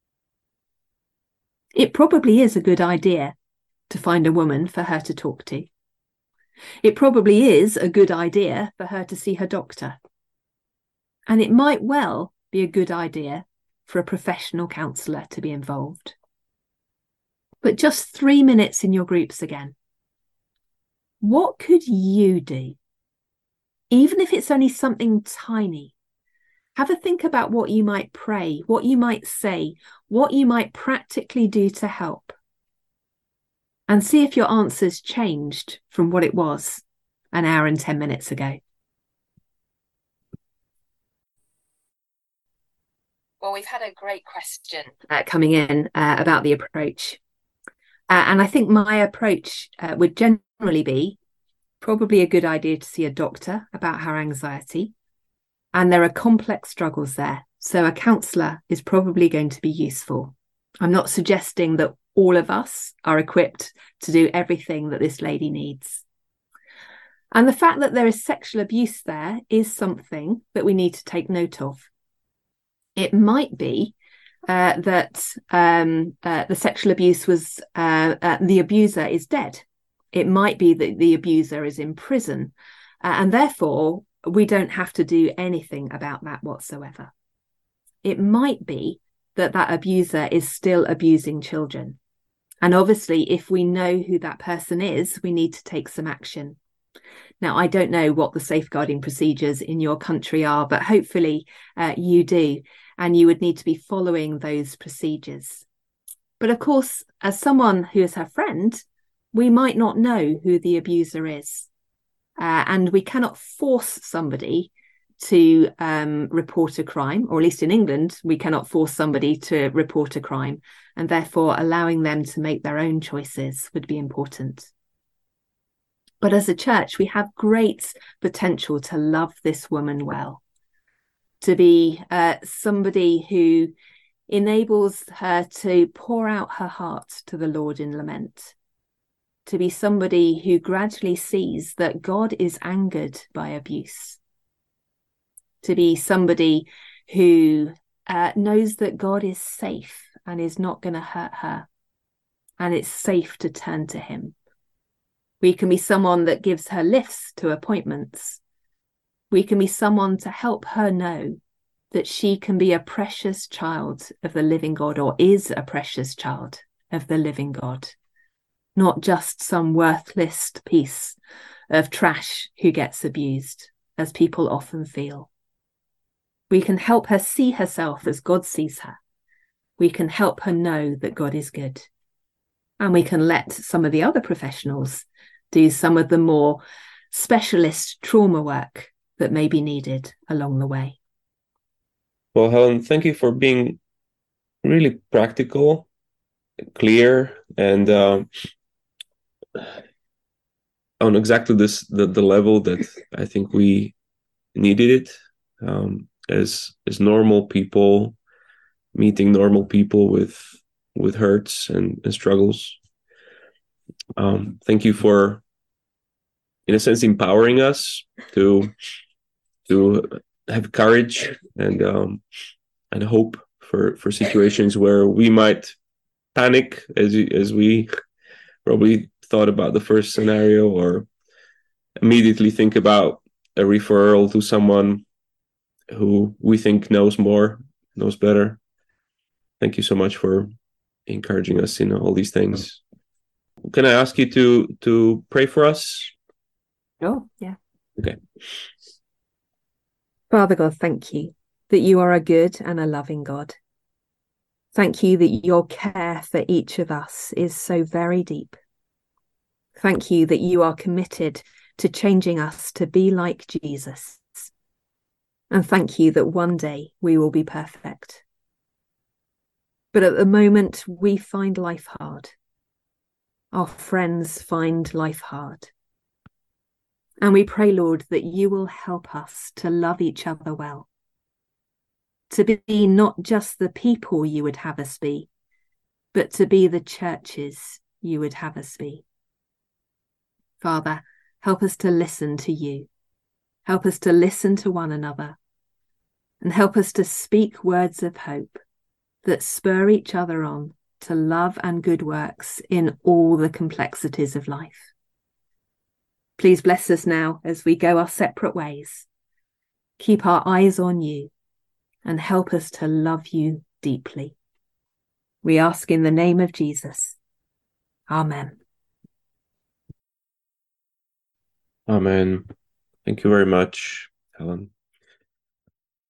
It probably is a good idea to find a woman for her to talk to. It probably is a good idea for her to see her doctor. And it might well be a good idea for a professional counsellor to be involved. But just three minutes in your groups again. What could you do? Even if it's only something tiny, have a think about what you might pray, what you might say, what you might practically do to help. And see if your answer's changed from what it was an hour and ten minutes ago. Well, we've had a great question uh, coming in uh, about the approach. Uh, and I think my approach uh, would generally be probably a good idea to see a doctor about her anxiety. And there are complex struggles there. So a counsellor is probably going to be useful. I'm not suggesting that all of us are equipped to do everything that this lady needs. And the fact that there is sexual abuse there is something that we need to take note of. It might be uh, that um, uh, the sexual abuse was, uh, uh, the abuser is dead. It might be that the abuser is in prison. Uh, and therefore, we don't have to do anything about that whatsoever. It might be that that abuser is still abusing children. And obviously, if we know who that person is, we need to take some action. Now, I don't know what the safeguarding procedures in your country are, but hopefully uh, you do. And you would need to be following those procedures. But of course, as someone who is her friend, we might not know who the abuser is. Uh, and we cannot force somebody to um, report a crime, or at least in England, we cannot force somebody to report a crime. And therefore, allowing them to make their own choices would be important. But as a church, we have great potential to love this woman well. To be uh, somebody who enables her to pour out her heart to the Lord in lament. To be somebody who gradually sees that God is angered by abuse. To be somebody who uh, knows that God is safe and is not going to hurt her. And it's safe to turn to him. We can be someone that gives her lifts to appointments. We can be someone to help her know that she can be a precious child of the living God, or is a precious child of the living God, not just some worthless piece of trash who gets abused, as people often feel. We can help her see herself as God sees her. We can help her know that God is good. And we can let some of the other professionals do some of the more specialist trauma work that may be needed along the way. Well, Helen, thank you for being really practical, clear, and uh, on exactly this the, the level that I think we needed it um, as as normal people meeting normal people with with hurts and, and struggles. Um, thank you for, in a sense, empowering us to to have courage and um, and hope for, for situations where we might panic, as as we probably thought about the first scenario, or immediately think about a referral to someone who we think knows more, knows better. Thank you so much for encouraging us in all these things. Can I ask you to to pray for us? Oh, yeah. Okay. Father God, thank you that you are a good and a loving God. Thank you that your care for each of us is so very deep. Thank you that you are committed to changing us to be like Jesus. And thank you that one day we will be perfect. But at the moment, we find life hard. Our friends find life hard. And we pray, Lord, that you will help us to love each other well, to be not just the people you would have us be, but to be the churches you would have us be. Father, help us to listen to you. Help us to listen to one another, and help us to speak words of hope that spur each other on to love and good works in all the complexities of life. Please bless us now as we go our separate ways. Keep our eyes on you and help us to love you deeply. We ask in the name of Jesus. Amen. Amen. Thank you very much, Helen.